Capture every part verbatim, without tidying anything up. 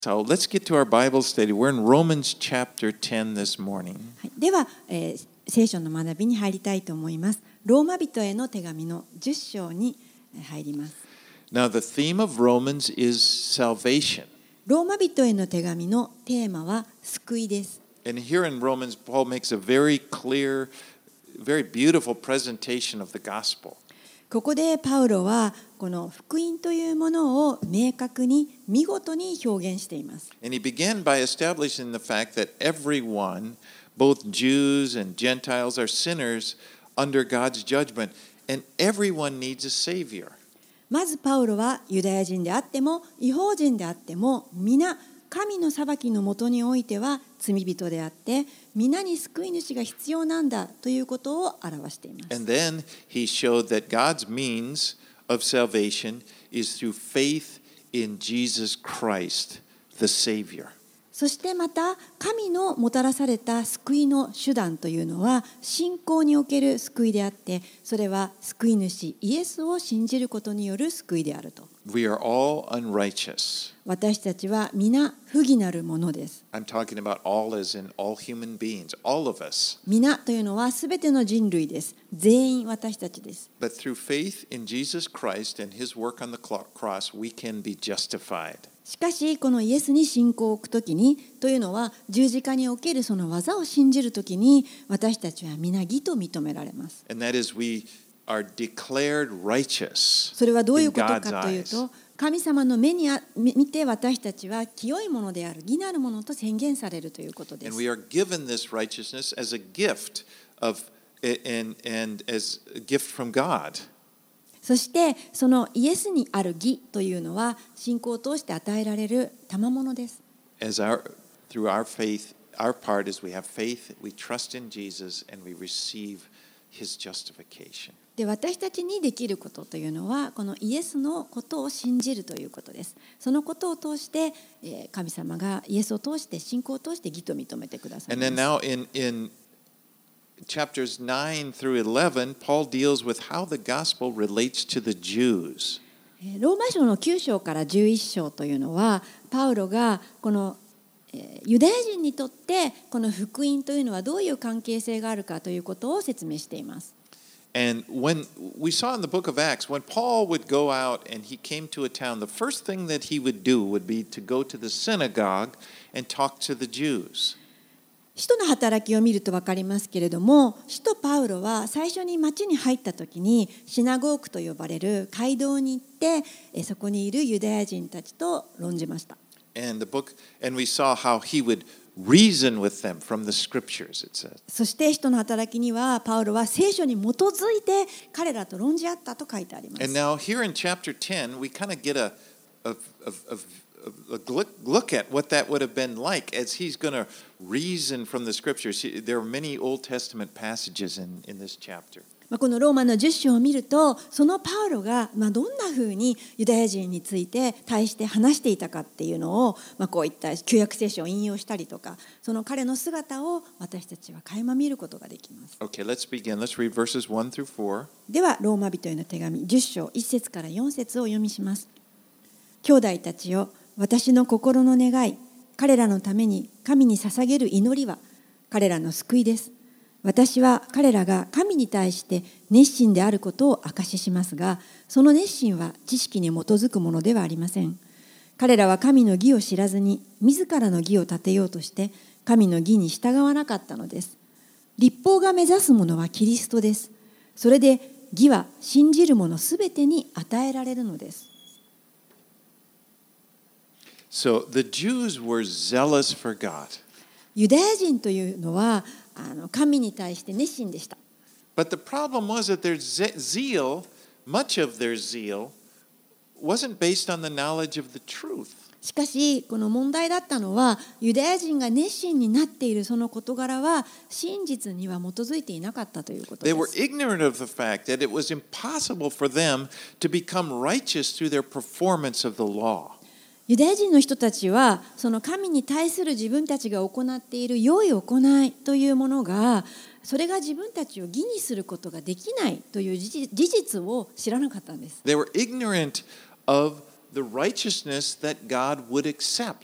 So let's get to our Bible study. We're in Romans chapter ten this morning. はい、では、えー、聖書の学びに入りたいと思います。ローマ人への手紙のじゅっ章に入ります。 Now the theme of Romans is salvation. ローマ人への手紙のテーマは救いです。 And here in Romans, Paul makes a very clear, very beautiful presentation of the gospel. ここでパウロはこの福音というものを明確に見事に表現しています。 And he began by establishing the fact that everyone, both Jews and Gentiles, are sinners under God's judgment, and everyone needs a savior. まずパウロはユダヤ人であっても異邦人であっても皆神の裁きのもとにおいては罪人であって皆に救い主が必要なんだということを表しています。 And then he showed that God's means of salvation is through faith in Jesus Christ, the Savior. そしてまた神のもたらされた救いの手段というのは信仰における救いであってそれは救い主イエスを信じることによる救いであると。 We are all unrighteous. 私たちは皆不義なるものです。 I'm talking about all as in all human beings, all of us. 皆というのはすべての人類です。全員私たちです。 But through faith in Jesus Christ and his work on the cross, we can be justified. しかしこのイエスに信仰を置くときにというのは十字架におけるその技を信じるときに私たちは皆義と認められます。 And that is we are declared righteous それはどういう in こと God's かという eyes. と神様の目にあ見て私たちは清いものである義なるものと宣言されるということで And す。 we are given this righteousness as a gift of and, and as a gift from God. そしてそのイエスにある義というのは信仰を通して与えられる賜物です。 As our through our faith, our part is we have faith, we trust in Jesus, and we receive his justification. で私たちにできることというのはこのイエスのことを信じるということです。そのことを通して神様がイエスを通して信仰を通して義と認めてください And ま then す。 now in in chapters nine through eleven, Paul deals with how the gospel relates to the Jews. ローマ書のきゅう章からじゅういち章というのはパウロがこのユダヤ人にとってこの福音というのはどういう関係性があるかということを説明しています。 And when we saw in the book of Acts, when Paul would go out and he came to a town, the first thing that he would do would be to go to the synagogue and talk to the Jews. 使徒の働きを見ると分かりますけれども、使徒パウロは最初に町に入った時にシナゴークと呼ばれる街道に行ってそこにいるユダヤ人たちと論じました。 And the book, and we saw how he would reason with them from the scriptures, it says. そして使徒の働きにはパウロは聖書に基づいて彼らと論じ合ったと書いてあります。 And now here in chapter ten, we kind of get a, a, a, a, a look at what that would have been like as he's going to reason from the scriptures. There are many Old Testament passages in, in this chapter. このローマのじゅっ章を見るとそのパウロがどんなふうにユダヤ人について対して話していたかっていうのをこういった旧約聖書を引用したりとかその彼の姿を私たちは垣間見ることができます。 Okay, let's begin. Let's read verses one through four. ではローマ人への手紙じゅっ章いち節からよん節をお読みします。兄弟たちよ、私の心の願い、彼らのために神に捧げる祈りは彼らの救いです。私は彼らが神に対して熱心であることを証ししますが、その熱心は知識に基づくものではありません。彼らは神の義を知らずに自らの義を立てようとして神の義に従わなかったのです。律法が目指すものはキリストです。それで義は信じる者すべてに与えられるのです。 So the Jews were zealous for God. ユダヤ人というのはあの神に対して熱心でした。 But the problem was that their zeal, much of their zeal, wasn't based on the knowledge of the truth. しかしこの問題だったのはユダヤ人が熱心になっているその事柄は真実には基づいていなかったということで They were す。 ignorant of the fact that it was impossible for them to become righteous through their performance of the law. ユダヤ人の人たちはその神に対する自分たちが行っている良い行いというものがそれが自分たちを義にすることができないという事実を知らなかったんです。 They were ignorant of the righteousness that God would accept.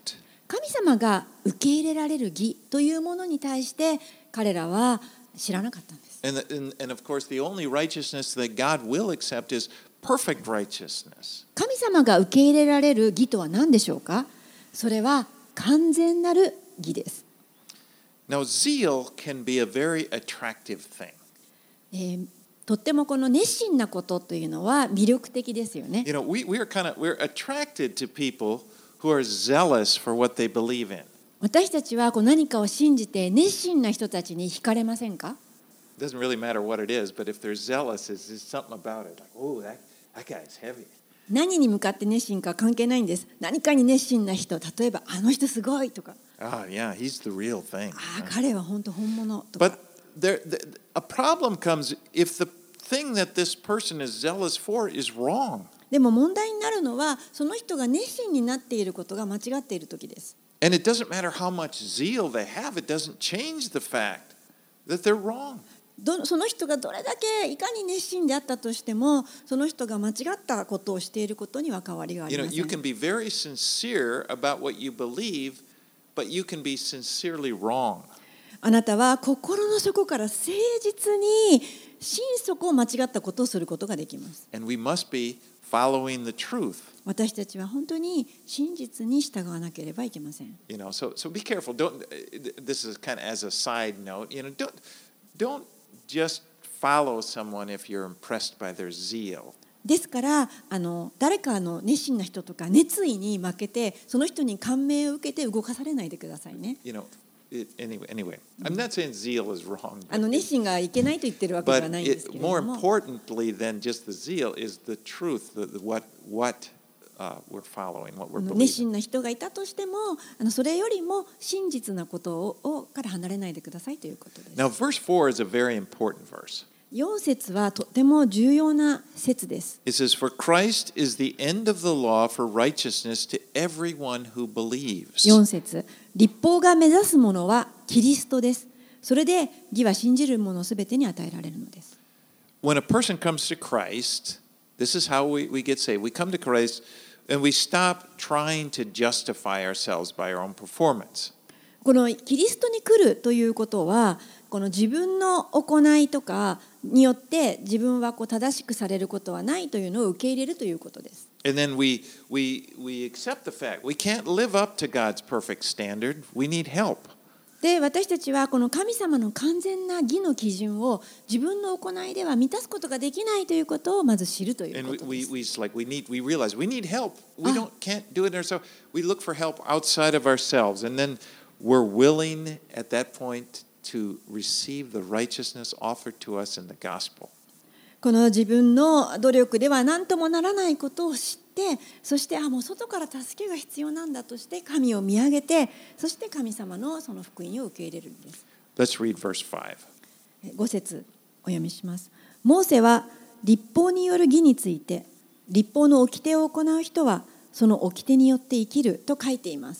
神様が受け入れられる義というものに対して彼らは知らなかったんです。 And, and, and of course, the only righteousness that God will accept is perfect righteousness. 神様が受け入れられる義とは何でしょうか？それは完全なる義です。 Now, zeal can be a very attractive thing. えー、とってもこの熱心なことというのは魅力的ですよね。 You know, we, we are kind of, we're attracted to people who are zealous for what they believe in. 私たちはこう何かを信じて熱心な人たちに惹かれませんか？ It doesn't really matter what it is, but if they're zealous, there's just something about it. Like, oh, that, that guy's heavy. 何に向かって熱心か関係ないんです。何かに熱心な人、例えばあの人すごいとか、 Ah, yeah, he's the real thing. ああ彼は本当本物とか。 But there, the, a problem comes if the thing that this person is zealous for is wrong. でも問題になるのはその人が熱心になっていることが間違っている時です。 And it doesn't matter how much zeal they have, it doesn't change the fact that they're wrong. どその人がどれだけいかに熱心であったとしても、その人が間違ったことをしていることには変わりがあり You ま know, せ you ん。 can be very sincere about what you believe, but you can be sincerely wrong. あなたは心の底から誠実に心底間違ったことをすることができます。 And we must be following the truth. 私たちは本当に真実に従わなければいけません。 You know, so so be careful. Don't. This is kind of as a side note. You know, don't don't just follow someone if you're impressed by their zeal. ですからあの誰かの熱心な人とか熱意に負けてその人に感銘を受けて動かされないでくださいね。 You know, it, anyway. Anyway, I'm not saying zeal is wrong. あの熱心がいけないと言ってるわけでは But ないんです it, けれど more も。 importantly than just the zeal is the truth. The, the, what what uh, we're following, what we're 熱 believing. 心な人がいたとしても、あのそれよりも真実なことををから離れないでくださいということです。 Now, verse four is a very important verse. よん節はとても重要な節です。 It says, "For Christ is the end of the law for righteousness to everyone who believes." よん節、立法が目指すものはキリストです。それで義は信じる者すべてに与えられるのです。 When a person comes to Christ, this is how we, we get saved. We come to Christ and we stop trying to justify ourselves by our own performance. このキリストに来るということは、この自分の行いとかによって自分はこう正しくされることはないというのを受け入れるということです。 And then we, we, we accept the fact we can't live up to God's perfect standard. We need help. で、私たちはこの神様の完全な義の基準を自分の行いでは満たすことができないということをまず知るという And こと we, で we, す。 we, like, we, need, we realize we need help. We don't, can't do it ourselves. We look for help outside of ourselves. And then we're willing at that point to receive the righteousness offered to us in the gospel. この自分の努力では何ともならないことを知って、そしてあもう外から助けが必要なんだとして神を見上げて、そして神様のその福音を受け入れるんです。 Let's read verse five. ご節お読みします。モーセは律法による義について、律法の掟を行う人はその掟によって生きると書いています。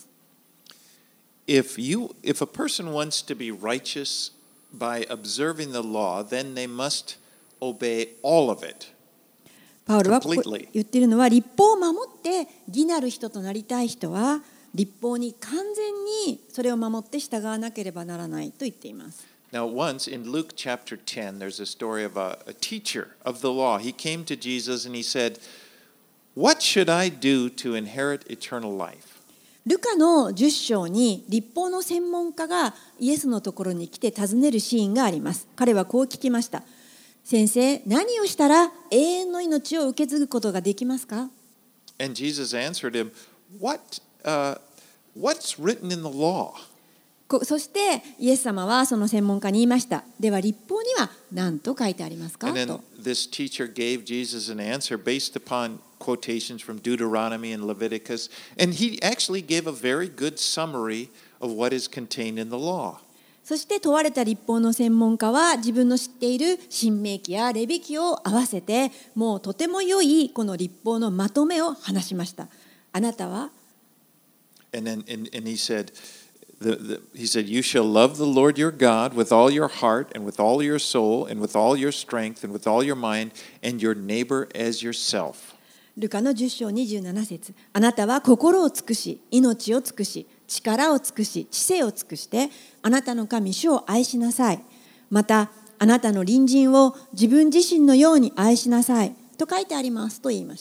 If you, if a person wants to be righteous by observing the law, then they must obey all of it. パウロはここ completely. 言っているのは、律法を守って義なる人となりたい人は律法に完全にそれを守って従わなければならないと言っています。 Now, once in Luke chapter ten, there's a story of a, a teacher of the law. He came to Jesus and he said, "What should I do to inherit eternal life?" ルカのじゅっ章に律法の専門家がイエスのところに来て尋ねるシーンがあります。彼はこう聞きました。先生、何をしたら永遠の命を受け継ぐことができますか？ And Jesus answered him, "What, uh, what's written in the law?" こそしてイエス様はその専門家に言いました。では律法には何と書いてありますか？ And then と。 this teacher gave Jesus an answer based upon quotations from Deuteronomy and Leviticus. And he actually gave a very good summary of what is contained in the law. そして問われた律法の専門家は自分の知っている新明記やレビ記を合わせて、もうとても良いこの律法のまとめを話しました。あなたは And then and, and he said, the, the, he said, "You shall love the Lord your God with all your heart and with all your soul and with all your strength and with all your mind and your neighbor as yourself." ルカのじゅっ章にじゅうなな節、あなたは心を尽くし、命を尽くし、 力を尽くし知性を尽くしてあなたの神主を愛しなさい。またあなたの隣人を自分自身のように愛しなさいと書いてありますと言いました。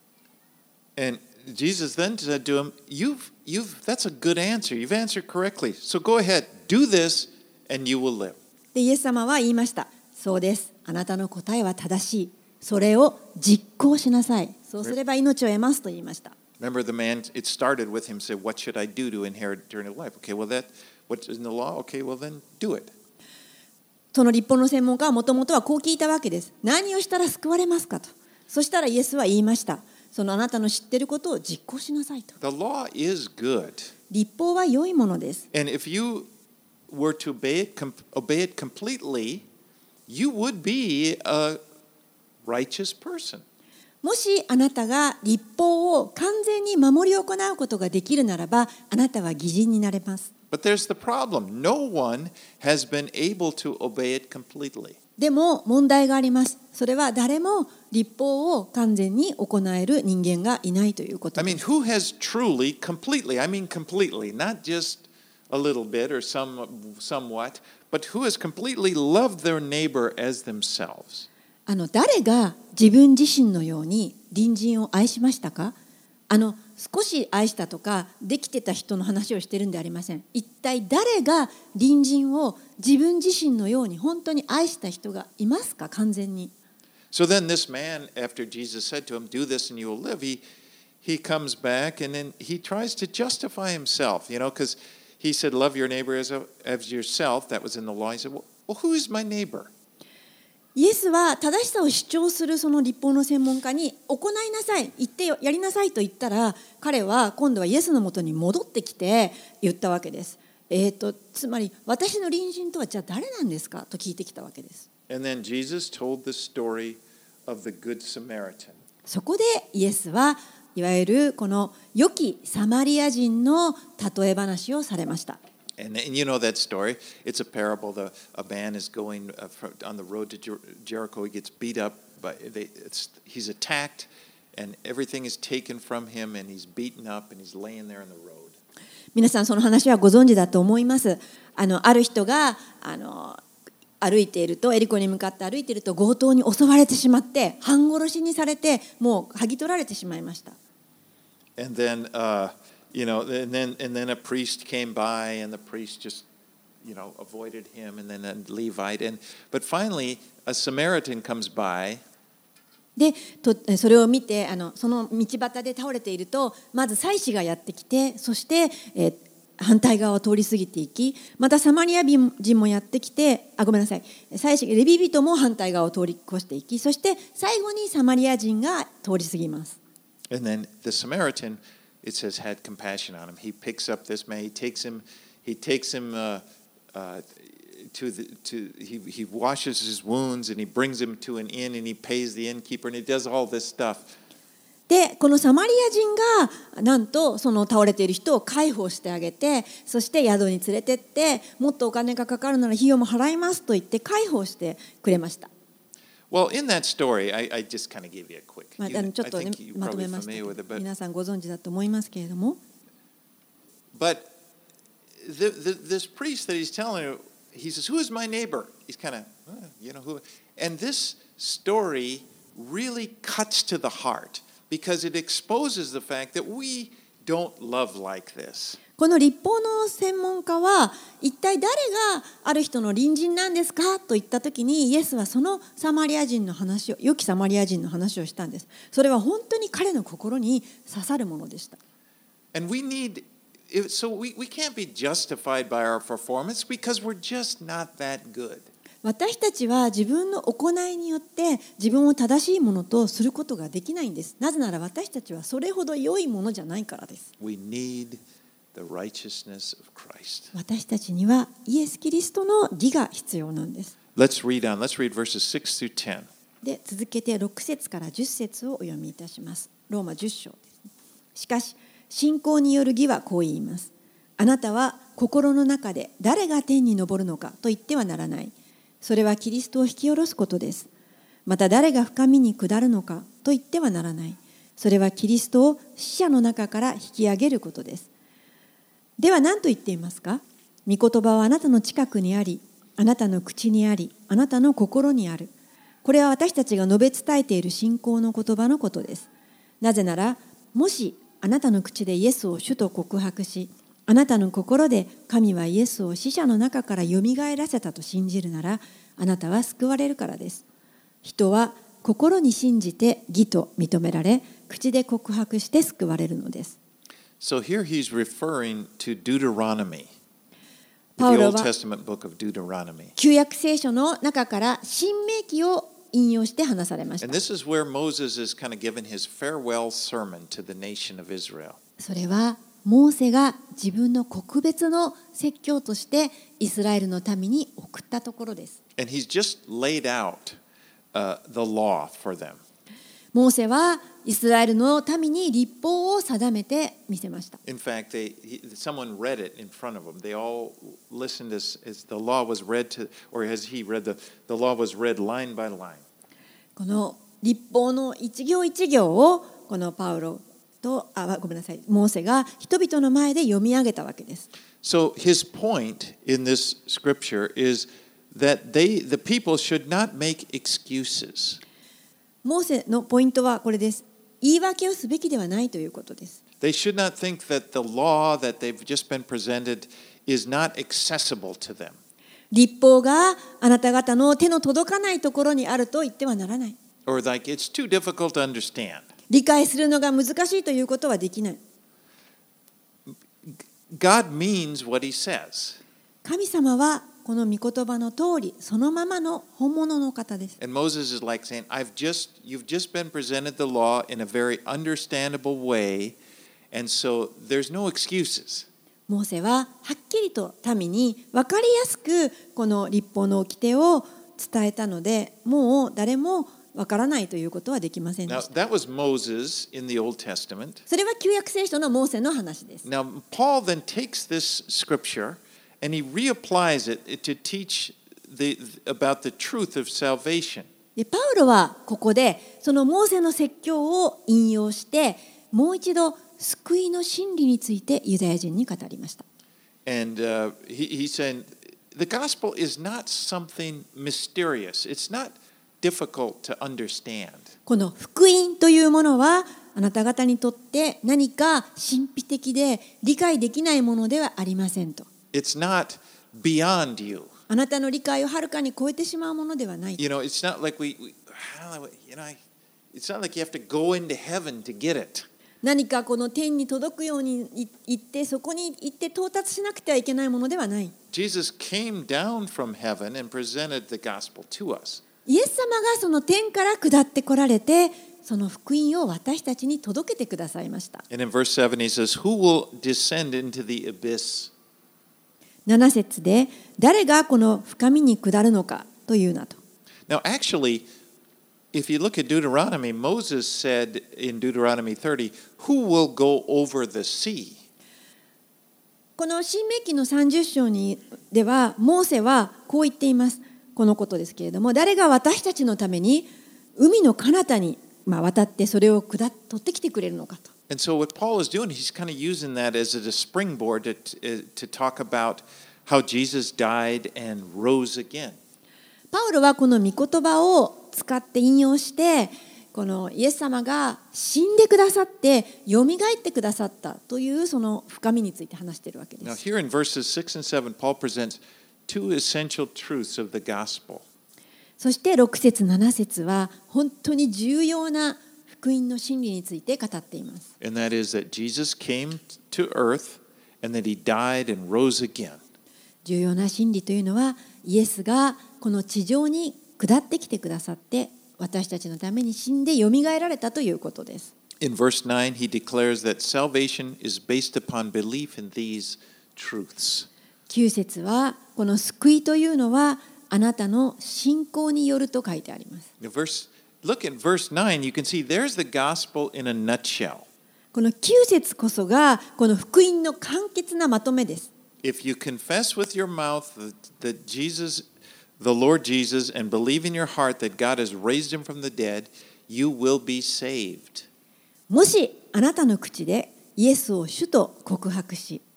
And Jesus then said to him, you've, you've, that's a good answer. You've answered correctly. So go ahead, do this, and you will live. でイエス様は言いました。そうです。あなたの答えは正しい。それを実行しなさい。そうすれば命を得ますと言いました。 Remember the man, it started with him saying, what should I do to inherit eternal life? Okay, well, that, what's in the law? Okay, well, then do it. その律法の専門家はもともとはこう聞いたわけです。何をしたら救われますかと。そしたらイエスは言いました。そのあなたの知っていることを実行しなさいと。 The law is good. 律法は良いものです。 And if you were to obey it, obey it completely, you would be a righteous person. もしあなたが律法を完全に守り行うことができるならば、あなたは義人になれます。 But there's the problem. No one has been able to obey it completely. でも問題があります。それは誰も律法を完全に行える人間がいないということ I で mean, す。 who has truly, completely, I mean completely, not just a little bit or some, somewhat, but who has completely loved their neighbor as themselves? あの誰が自分自身のように隣人を愛しましたか？あの少し愛したとかできてた人の話をしてるんではありません。一体誰が隣人を自分自身のように本当に愛した人がいますか？完全に。 So then this man, after Jesus said to him, do this and you will live, he, he comes back and then he tries to justify himself, you know, because he said, love your neighbor as, a, as yourself. That was in the law. He said, well, well, who is my neighbor? イエスは正しさを主張するその律法の専門家に行いなさい、言ってよ、やりなさいと言ったら、彼は今度はイエスのもとに戻ってきて言ったわけです。えーと、つまり私の隣人とはじゃあ誰なんですかと聞いてきたわけです。 And then Jesus told the story of the Good Samaritan. そこでイエスはいわゆるこの良きサマリア人の例え話をされました。 And, and you know that story. It's a parable. The, a man is going uh, from, on the road to Jer- Jericho. He gets beat up. By, they, it's, he's attacked, and everything is taken from him, and he's beaten up, and he's laying there in the road. 皆さんその話はご存知だと思います。あの、ある人があの歩いていると、エリコに向かって歩いていると強盗に襲われてしまって、半殺しにされて、もう剥ぎ取られてしまいました。 And then, uh, you know, and then and then a priest came by, and the priest just, you know, avoided him, and then a Levite, and but finally a Samaritan comes by. でとそれを見てあのその道端で倒れているとまず祭司がやってきて、そして、えー、反対側を通り過ぎていき、またサマリア人もやってきて、あごめんなさい祭司レビ人も反対側を通り越していき、そして最後にサマリア人が通り過ぎます。 And then the Samaritan, it says, had compassion on him. He picks up this man. He takes him. He takes him uh, uh, to the to. He he washes his wounds and he brings him to an inn and he pays the innkeeper and he does all this stuff. でこのサマリア人がなんとその倒れている人を介抱してあげて、そして宿に連れてって、もっとお金がかかるなら費用も払いますと言って介抱してくれました。 Well, in that story, I, I just kind of gave you a quick. まあ、 You, あのちょっ I とね think you're まとめ probably ましたけ familiar ど、 with it, but 皆さんご存知だと思いますけれども、 but the, the, this priest that he's telling you, he says, "Who is my neighbor?" He's kind of, uh, you know, who? And this story really cuts to the heart because it exposes the fact that we don't love like this. この律法の専門家は一体誰がある人の隣人なんですかと言ったときに、イエスはそのサマリア人の話を、良きサマリア人の話をしたんです。それは本当に彼の心に刺さるものでした。 And we need, so we, we can't be justified by our performance because we're just not that good. 私たちは自分の行いによって自分を正しいものとすることができないんです。なぜなら私たちはそれほど良いものじゃないからです。 We need the righteousness of Christ. 私たちにはイエス・キリストの義が必要なんです。 Let's read on. Let's read verses six through ten. で続けてろく節からじゅっ節をお読みいたします。ローマじゅっ章です。しかし信仰による義はこう言います。あなたは心の中で誰が天に昇るのかと言ってはならない。それはキリストを引き下ろすことです。また誰が深みに下るのかと言ってはならない。それはキリストを死者の中から引き上げることです。 では何と言っていますか？御言葉はあなたの近くにあり、あなたの口にあり、あなたの心にある。これは私たちが述べ伝えている信仰の言葉のことです。なぜなら、もしあなたの口でイエスを主と告白し、あなたの心で神はイエスを死者の中からよみがえらせたと信じるなら、あなたは救われるからです。人は心に信じて義と認められ、口で告白して救われるのです。 So here he's referring to Deuteronomy, パ the ウロ Old は Testament book of Deuteronomy. 旧約聖書の中から新明記を引用して話されまし And た。 this is where Moses is kind of given his farewell sermon to the nation of Israel. それはモーセが自分の国別の説教としてイスラエルの民に送ったところです。 And he's just laid out uh, the law for them. モーセはイスラエルの民に律法を定めてみせました。 In fact, they, he, someone read it in front of them. They all listened as, as the law was read to, or as he read the, the law was read line by line. この律法の一行一行をこのパウロとあごめんなさいモーセが人々の前で読み上げたわけです。 So his point in this scripture is that they, the people should not make excuses. モーセのポイントはこれです。言い訳をすべきではないということです。 They should not think that the law that they've just been presented is not accessible to them. 律法があなた方の手の届かないところにあると言ってはならない。 Or like it's too difficult to understand. 理解するのが難しいということはできない。 God means what he says. 神様はこの御言葉の通りそのままの本物の方です。 And Moses is like saying, I've just, you've just been presented the law in a very understandable way, and so there's no excuses. モーセははっきりと民に分かりやすくこの律法の掟を伝えたので、もう誰も分からないということはできませんで Now, した。 that was Moses in the Old Testament. それは旧約聖書のモーセの話です。 Now, Paul then takes this scripture and he reapplies it to teach the, about the truth of salvation. でパウロはここでそのモーセの説教を引用してもう一度救いの真理についてユダヤ人に語りました。 And uh, he, he's saying the gospel is not something mysterious. It's not difficult to understand. この福音というものはあなた方にとって何か神秘的で理解できないものではありませんと。 It's not beyond you. あなたの理解をはるかに超えてしまうものではない。 You know, it's not like we, we you know, it's not like you have to go into heaven to get it. 何かこの天に届くように行ってそこに行って到達しなくてはいけないものではない。 Jesus came down from heaven and presented the gospel to us. イエス様がその天から下ってこられてその福音を私たちに届けてくださいました。 And in verse seven he says, Who will descend into the abyss? なな節で誰がこの深みに下るのかというなと。 Now, actually, if you look at Deuteronomy, Moses said in Deuteronomy thirty, Who will go over the sea? この新明記のさんじゅっ章にではモーセはこう言っています。このことですけれども、誰が私たちのために海の彼方にまあ渡ってそれを下っ取ってきてくれるのかと。 And so what Paul is doing, he's kind of using that as a springboard to, to talk about how Jesus died and rose again. パウロはこの御言葉を使って引用してこのイエス様が死んでくださってよみがえってくださったというその深みについて話しているわけで Now す。 here in verses six and seven, Paul presents two essential truths of the gospel. そしてろく節なな節は本当に重要な福音の真理について語っています。 And that is that Jesus came to earth and that he died and rose again. 重要な真理というのはイエスがこの地上に下ってきてくださって私たちのために死んでよみがえられたということです。 In verse nine, he declares that salvation is based upon belief in these truths. きゅう節はこの救いというのはあなたの信仰によると書いてあります。 Now, verse, look at verse nine, you can see there's the gospel in a nutshell. このきゅう節こそがこの福音の簡潔なまとめです。 If you confess with your mouth that, that Jesus, the Lord Jesus, and believe in your heart that God has raised him from the dead, you will be saved. もしあなたの口でイエスを主と告白し、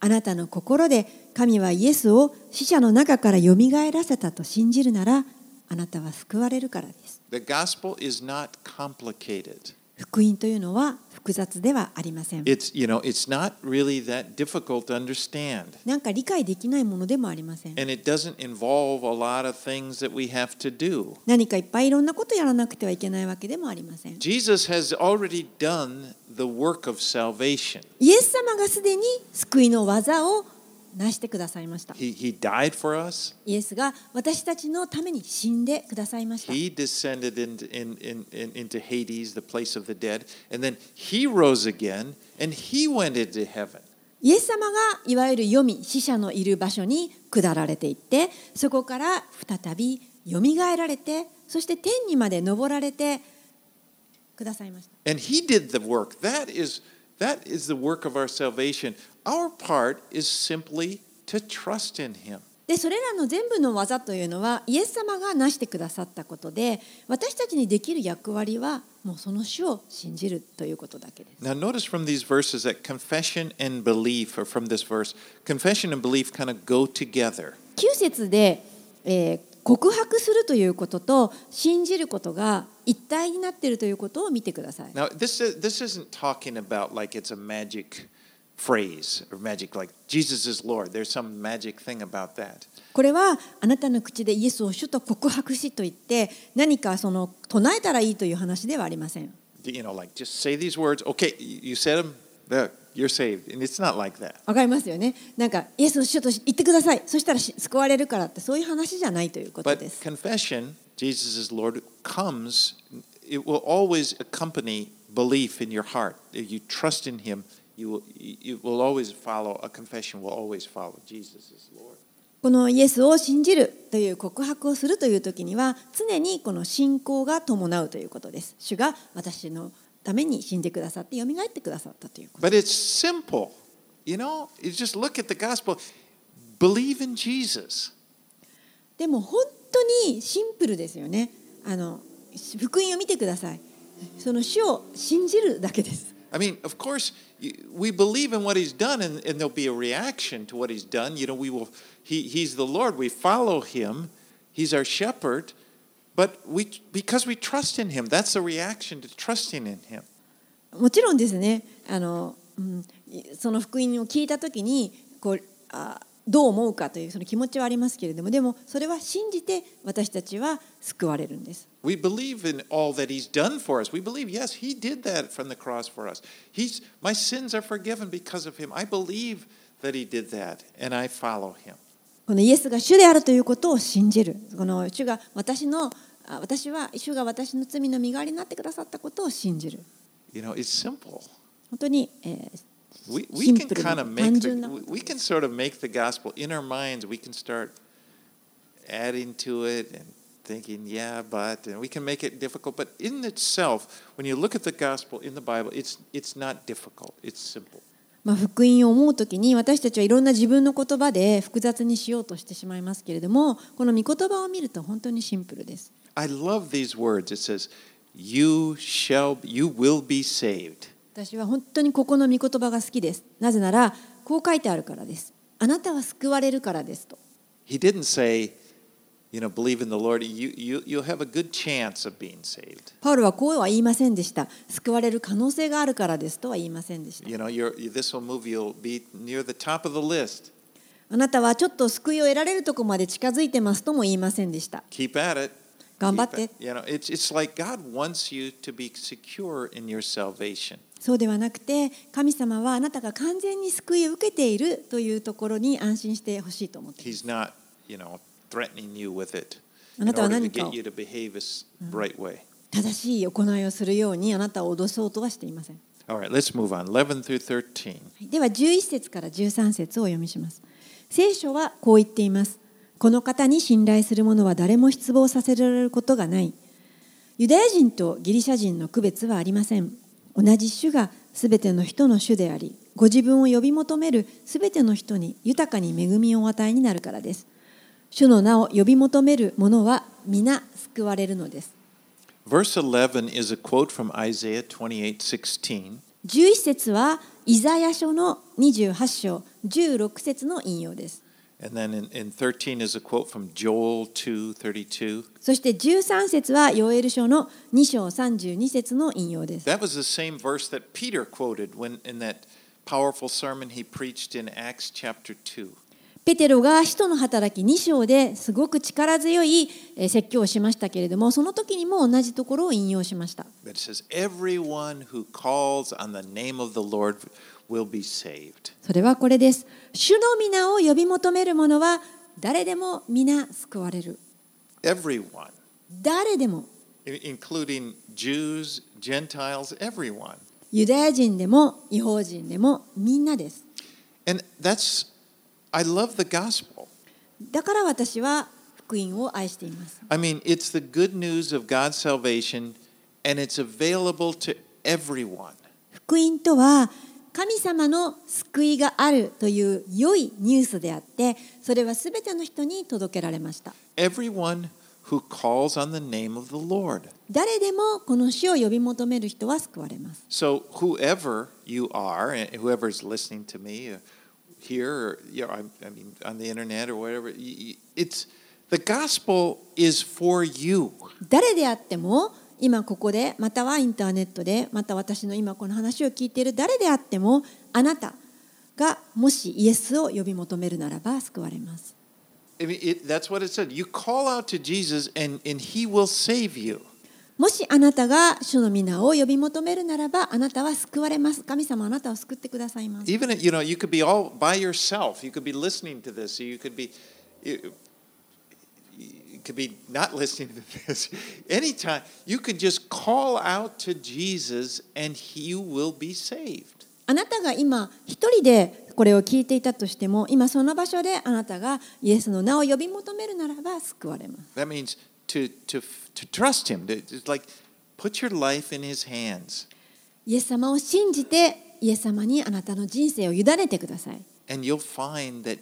あなたの心で神はイエスを死者の中からよみがえらせたと信じるなら、あなたは救われるからです。 The gospel is not complicated. 福音というのは複雑ではありません。 It's, you know, it's not really that difficult to understand. なんか理解できないものでもありません。 And it doesn't involve a lot of things that we have to do. 何かいっぱいいろんなことやらなくてはいけないわけでもありません。 Jesus has already done the work of salvation. イエス様がすでに救いの技を成してくださいました。 He, he died for us. イエスが私たちのために死んでくださいました。 He descended into, in, in, in, into Hades, the place of the dead. And then he rose again and he went into heaven. イエス様がいわゆる黄泉、死者のいる場所に下られていって、そこから再びよみがえられて、そして天にまで昇られてくださいました。 And he did the work. That is, that is the work of our salvation. Our part is simply to trust in him. で、それらの全部の技というのはイエス様が成してくださったことで、私たちにできる役割はもうその主を信じるということだけです。 Now notice from these verses that confession and belief, or from this verse, confession and belief kind of go together. きゅう節で、えー告白するということと信じることが一体になっているということを見てください。 Now this, is, this isn't talking about like it's a magic phrase or magic like Jesus is Lord. There's some magic thing about that. これはあなたの口でイエスを主と告白しと言って何かその唱えたらいいという話ではありません。 You know, like just say these words. Okay, you said them. There, you're saved. And it's not like that. わかりますよね。なんかイエスを主と言ってください。そしたら救われるからってそういう話じゃないということで But す。 confession, Jesus is Lord, comes. It will always accompany belief in your heart. If you trust in Him, you will. You will always follow. A confession will always follow. Jesus is Lord. このイエスを信じるという告白をするという時には常にこの信仰が伴うということです。主が私のために死んでくださって蘇ってくださったということ。 But it's simple. You know, you just look at the gospel. Believe in Jesus. でも本当にシンプルですよね。あの福音を見てください。その主を信じるだけです。 I mean, of course, we believe in what He's done, and, and there'll be a reaction to what He's done. You know, we will. He, he's the Lord. We follow Him. He's our shepherd. But we, because we trust in Him, that's a reaction to trusting in Him. もちろんですね。あの、うん、その福音を聞いたときにこうあどう思うかというその気持ちはありますけれども、でもそれは信じて私たちは救われるんです。 We believe in all that He's done for us. We believe, yes, He did that from the cross for us. He's, my sins are forgiven because of Him. I believe that He did that, and I follow Him. このイエスが主であるということを信じる。この主が私の私は主が私の罪の身代わりになってくださったことを信じる。 You know, it's simple. 本当に、えー We, we can kind of make the, we can sort of make the gospel in our minds. We can start adding to it and thinking, yeah, but, and we can make it difficult. But in itself, when you look at the gospel in the Bible, it's it's not difficult. It's simple. まあ福音を思うときに私たちはいろんな自分の言葉で複雑にしようとしてしまいますけれども、この御言葉を見ると本当にシンプルです。 I love these words. It says, "You shall, you will be saved." 私は本当にここの御言葉が好きです。なぜならこう書いてあるからです。あなたは救われるからですと。 He didn't say, you know, believe in the Lord. You you you'll have a good chance of being saved. パウロはこうは言いませんでした。救われる可能性があるからですとは言いませんでした。 You know, you're, this will move you'll be near the top of the list. あなたはちょっと救いを得られるところまで近づいてますとも言いませんでした。 Keep at it. 頑張って。 You know, it's it's like God wants you to be secure in your salvation. そうではなくて、神様はあなたが完全に救いを受けているというところに安心してほしいと思っています。 He's not, you know, threatening you with it あ in なたは order to 何か get を you to behave a right way. 正しい行いをするようにあなたを脅そうとはしていません。 All right, let's move on. eleven through thirteen. ではじゅういっ節からじゅうさん節をお読みします。聖書はこう言っています。この方に信頼する者は誰も失望させられることがない。ユダヤ人とギリシャ人の区別はありません。同じ主がすべての人の主であり、ご自分を呼び求めるすべての人に豊かに恵みをお与えになるからです。主の名を呼び求める者は皆救われるのです。 Verse eleven is a quote from Isaiah twenty-eight sixteen. じゅういち節はイザヤ書のにじゅうはち章じゅうろく節の引用です。 And then in, in thirteen is a quote from Joel two thirty-two. そしてじゅうさん節はヨエル書のに章さんじゅうに節の引用です。 That was the same verse that Peter quoted when in that powerful sermon he preached in Acts chapter two. ペテロが使徒の働きに章ですごく力強い説教をしましたけれども、その時にも同じところを引用しました。 It says, "Everyone who calls on the name of the Lord will be saved." それはこれです。主の皆を呼び求める者は誰でも皆救われる。 Everyone, 誰でも。 including Jews, Gentiles, everyone. ユダヤ人でも異邦人でもみんなです。 And that's, I love the gospel. だから私は福音を愛しています。 I mean, it's the good news of God's salvation, and it's available to everyone. 福音とは神様の救いがあるという良いニュースであって、それはすべての人に届けられました。 Everyone who calls on the name of the Lord. 誰でもこの主を呼び求める人は救われます。 So whoever you are, and whoever is listening to me uh, here, or you know, I, I mean on the internet or whatever, it's the gospel is for you. 誰であっても今ここでまたはインターネットでまた私の今この話を聞いている誰であってもあなたがもしイエスを呼び求めるならば救われます。 I mean, it, that's what it said. You call out to Jesus, and and He will save you. もしあなたが主の皆を呼び求めるならばあなたは救われます。神様あなたを救ってくださいます。 Even you know, you could be all by yourself. You could be listening to this. You could be. You, you could be not listening to this. Anytime you could just call out to Jesus, and He will be saved. あなたが今一人でこれを聞いていたとしても、今その場所であなたがイエスの名を呼び求めるならば救われます。 That means to to to trust Him. It's like put your life in His hands. イエス様を信じてイエス様にあなたの人生を委ねてください。 And you'll find that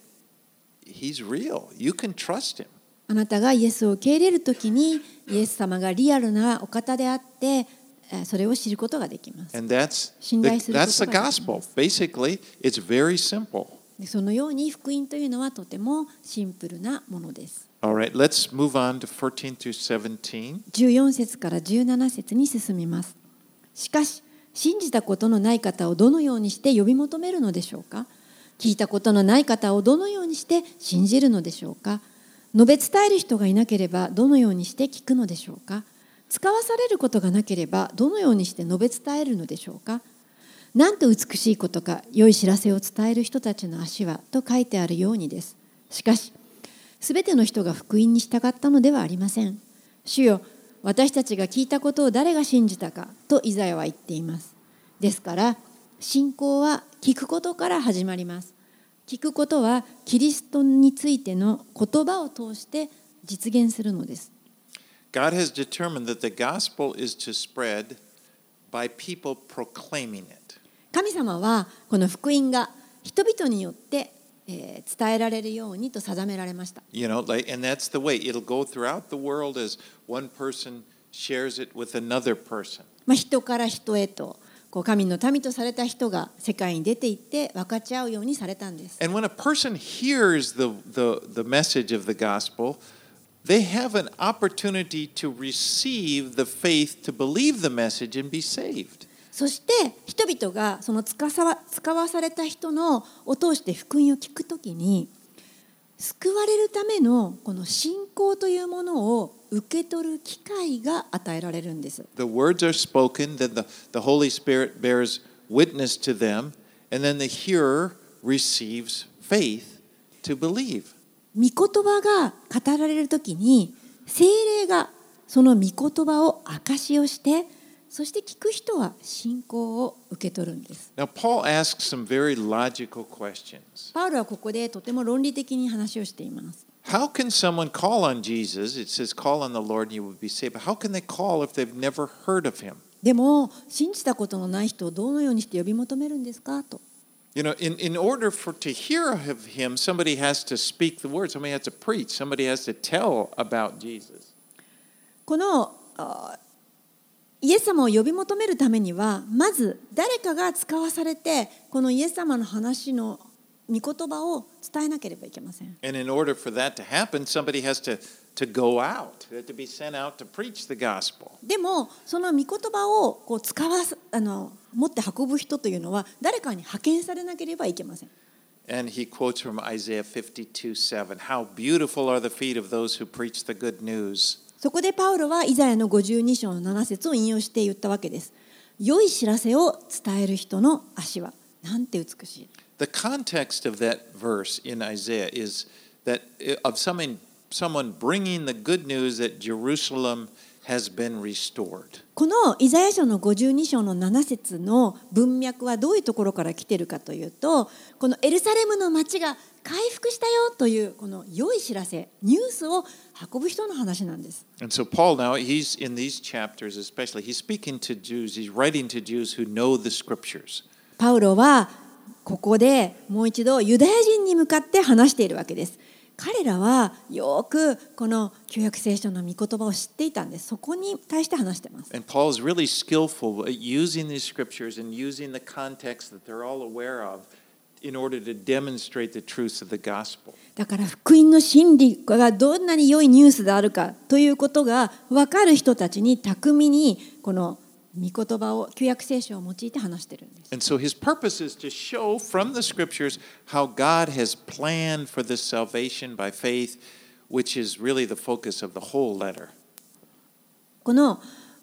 He's real. You can trust Him. あなたがイエスを受け入れるときにイエス様がリアルなお方であってそれを知ることができます。 And that's 信頼す the, ること that's が the できま gospel. す。 Basically, it's very simple. そのように福音というのはとてもシンプルなものです。 All right, let's move on to fourteen through seventeen. じゅうよん節からじゅうなな節に進みます。しかし、信じたことのない方をどのようにして呼び求めるのでしょうか。聞いたことのない方をどのようにして信じるのでしょうか。述べ伝える人がいなければどのようにして聞くのでしょうか。使わされることがなければどのようにして述べ伝えるのでしょうか。なんと美しいことか、良い知らせを伝える人たちの足はと書いてあるようにです。しかし、すべての人が福音に従ったのではありません。主よ、私たちが聞いたことを誰が信じたかとイザヤは言っています。ですから、信仰は聞くことから始まります。聞くことはキリストについての言葉を通して実現するのです。 God has determined that the gospel is to spread by people proclaiming it. 神様はこの福音が人々によって、えー、伝えられるようにと定められました。 You know, like, and that's the way it'll go throughout the world as one person shares it with another person. まあ、人から人へとこう神の民とされた人が世界に出て行って分かち合うようにされたんです。 And when a person hears the, the, the message of the gospel, they have an opportunity to receive the faith to believe the message and be saved. そして人々がその使わ、使わされた人のを通して福音を聞くときに救われるためのこの信仰というものを受け取る機会が与えられるんです。 The words are spoken, then the, the Holy Spirit bears witness to them, and then the hearer receives faith to believe. 御言葉が語られるときに聖霊がその御言葉を証しをしてそして聞く人は信仰を受け取るんです。 Now, Paul asks some very logical questions. パウロはここでとても論理的に話をしています。 How can someone call on Jesus? It says, call on the Lord and you will be saved. But how can they call if they've never heard of him? でも信じたことのない人をどのようにして呼び求めるんですかと。 You know, in, in order for to hear of him, somebody has to speak the word. Somebody has to preach. Somebody has to tell about Jesus. このイエス様を呼び求めるためにはまず誰かが使わされてこのイエス様の話の御言葉を伝えなければいけません。 And in order for that to happen, somebody has to, to go out, they have to be sent out to preach the gospel. でもその御言葉をこう使わすあの持って運ぶ人というのは誰かに派遣されなければいけません。 And he quotes from Isaiah fifty-two seven, How beautiful are the feet of those who preach the good news. そこでパウロはイザヤのごじゅうに章のなな節を引用して言ったわけです。良い知らせを伝える人の足はなんて美しい。 The context of that verse in Isaiah is that of someone, someone bringing the good news that Jerusalem has been restored. このイザヤ書のごじゅうに章のなな節の文脈はどういうところから来ているかというと、このエルサレムの町が回復したよというこの良い知らせ、ニュースを運ぶ人の話なんです。 And so Paul now, he's in these chapters especially, he's speaking to Jews, he's writing to Jews who know the scriptures. パウロはここでもう一度ユダヤ人に向かって話しているわけです。彼らはよくこの旧約聖書の御言葉を知っていたんです。そこに対して話しています。 And Paul is really skillful at using these scriptures and using the context that they're all aware of in order to demonstrate the truth of the gospel. だから福音の真理がどんなに良いニュースであるかということが分かる人たちに巧みにこの御言葉を旧約聖書を用いて話しているんです。 And so his purpose is to show from the scriptures how God has planned for this salvation by faith, which is really the focus of the whole letter. この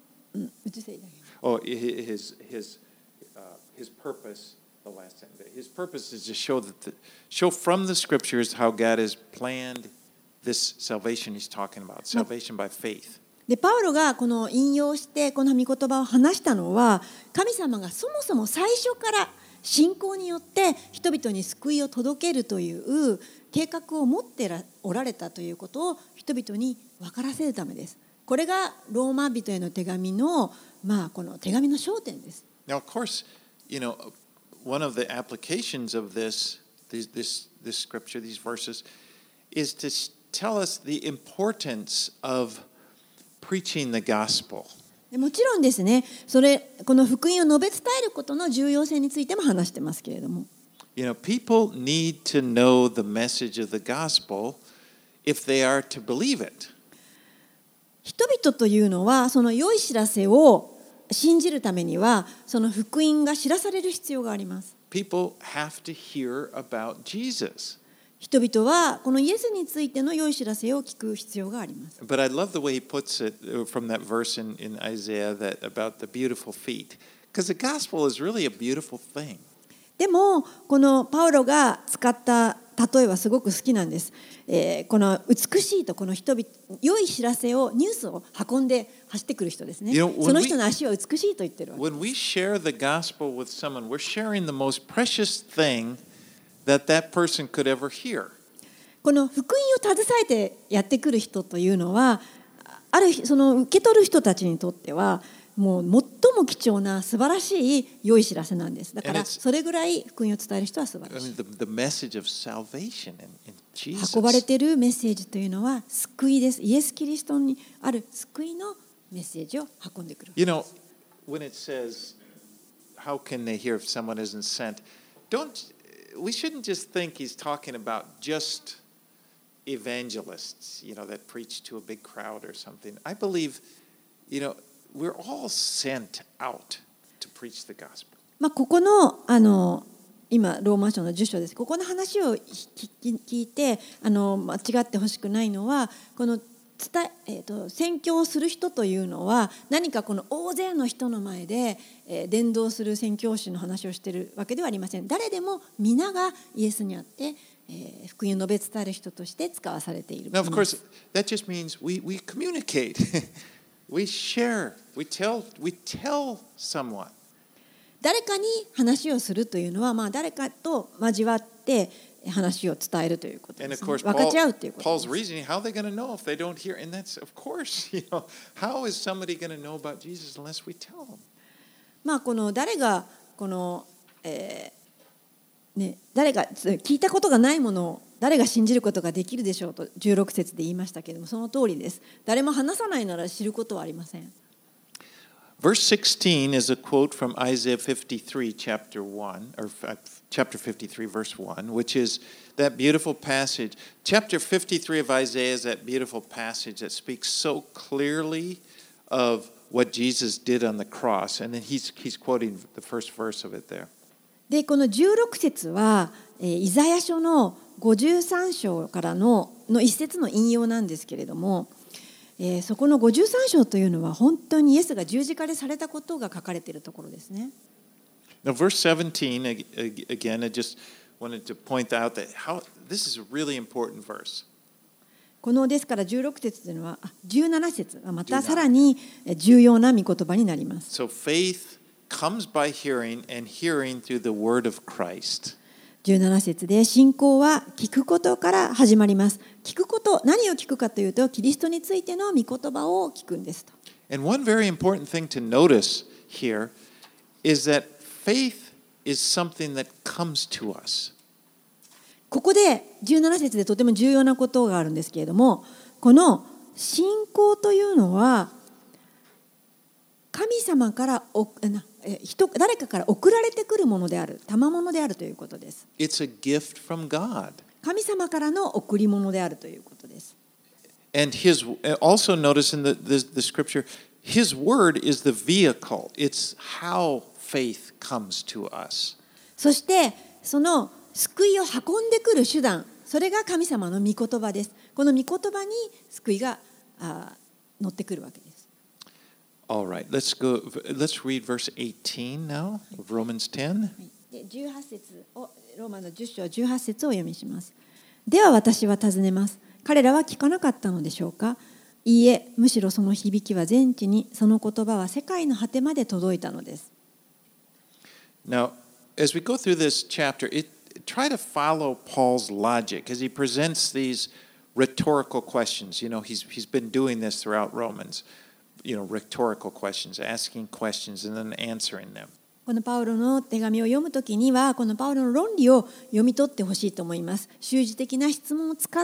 Oh, his his uh, his purpose, the last sentence. His purpose is to show that the, show from the scriptures how God has planned this salvation he's talking about, salvation by faith. でパウロがこの引用してこの御言葉を話したのは、神様がそもそも最初から信仰によって人々に救いを届けるという計画を持っておられたということを人々に分からせるためです。これがローマ人への手紙の、まあ、この手紙の焦点です。 Now, of course, you know, one of the applications of this, this, this, this scripture, these verses, is to tell us the importance of preaching the gospel. もちろんですね、それこの福音を述べ伝えることの重要性についても話してますけれども。 You know, people need to know the message of the gospel if they are to believe it. 人々というのはその良い知らせを信じるためにはその福音が知らされる必要があります。 People have to hear about Jesus. 人々はこのイエスについての良い知らせを聞く必要があります。 But I love the way he puts it from that verse in, in Isaiah that about the beautiful feet, because the gospel is really a beautiful thing. でもこのパウロが使った例えはすごく好きなんです。えー、この美しいとこの人々良い知らせをニュースを運んで走ってくる人ですね。 You know, その人の足は美しいと言ってるわけ。 When we share the gospel with someone, we're sharing the most precious thing that that person could ever hear. この福音を携えてやってくる人というのは、あるその受け取る人たちにとってはもう最も貴重な素晴らしい良い知らせなんです。だからそれぐらい福音を伝える人は素晴らしい。 The, the message of salvation in, in Jesus. 運ばれているメッセージというのは救いです。イエス・キリストにある救いのメッセージを運んでくる。 You know, when it says, how can they hear if someone isn't sent? Don't, we shouldn't just think he's talking about just evangelists, you know, that preach to a big crowd or something. I believe, you know, we're all sent out to preach the gospel. まあここのあの今ローマ書のじゅっ章です。ここの話を聞いてあの間違ってほしくないのは、この伝え、えーと、宣教をする人というのは何かこの大勢の人の前で、えー、伝道する宣教師の話をしているわけではありません。誰でも皆がイエスにあって、えー、福音を述べ伝える人として使わされている。 Now, of course, that just means we, we communicate. We share. We tell, we tell someone. 誰かに話をするというのは、まあ、誰かと交わって話を伝えるということです、ね。分かち合うということです。 Paul's reasoning, how are they going to know if they don't hear? And that's, of course, you know, how is somebody going to know about Jesus unless we tell them? まあこの誰がこの、えーね、誰が聞いたことがないものを誰が信じることができるでしょうとじゅうろく節で言いましたけれども、その通りです。誰も話さないなら知ることはありません。 Verse sixteen is a quote from Isaiah fifty-three, chapter one, or chapter fifty-three, verse one, which is that beautiful passage. Chapter fifty-three of Isaiah is that beautiful passage that speaks so clearly of what Jesus did on the cross. And then he's, he's quoting the first verse of it there. でこのじゅうろく節は、えー、イザヤ書のごじゅうさん章からのの一節の引用なんですけれども、えー、そこのごじゅうさん章というのは本当にイエスが十字架でされたことが書かれているところですね。 Now, verse seventeen, again, I just wanted to point out that how this is a really important verse. このですからじゅうろく節というのはあじゅうなな節はまたさらに重要な御言葉になります。 So faith comes by hearing and hearing through the word of Christ. じゅうなな節で信仰は聞くことから始まります。聞くこと、何を聞くかというとキリストについての御言葉を聞くんですと。 And one very important thing to notice here is that faith is something that comes to us. ここでじゅうなな節でとても重要なことがあるんですけれども、この信仰というのは神様からおな人誰かから送られてくるものである、賜物であるということです。 It's a gift from God. 神様からの贈り物であるということです。 And his also notice in the, the, the scripture, his word is the vehicle. It's how faith comes to us. そしてその救いを運んでくる手段、それが神様の御言葉です。この御言葉に救いがあ乗ってくるわけです。 All right, let's go. Let's read verse eighteen now of Romans ten. でじゅうはち節をローマのじゅっ章じゅうはち節をお読みします。では私は尋ねます。彼らは聞かなかったのでしょうか。いいえ、むしろその響きは全地に、その言葉は世界の果てまで届いたのです。 Now, as we go through this chapter, it try to follow Paul's logic as he presents these rhetorical questions. You know, he's he's been doing this throughout Romans. You know, rhetorical questions, asking questions and then answering them. このパウロの手紙を読むときには、このパウロの論理を読み取ってほしいと思います。修辞的な質問を使って、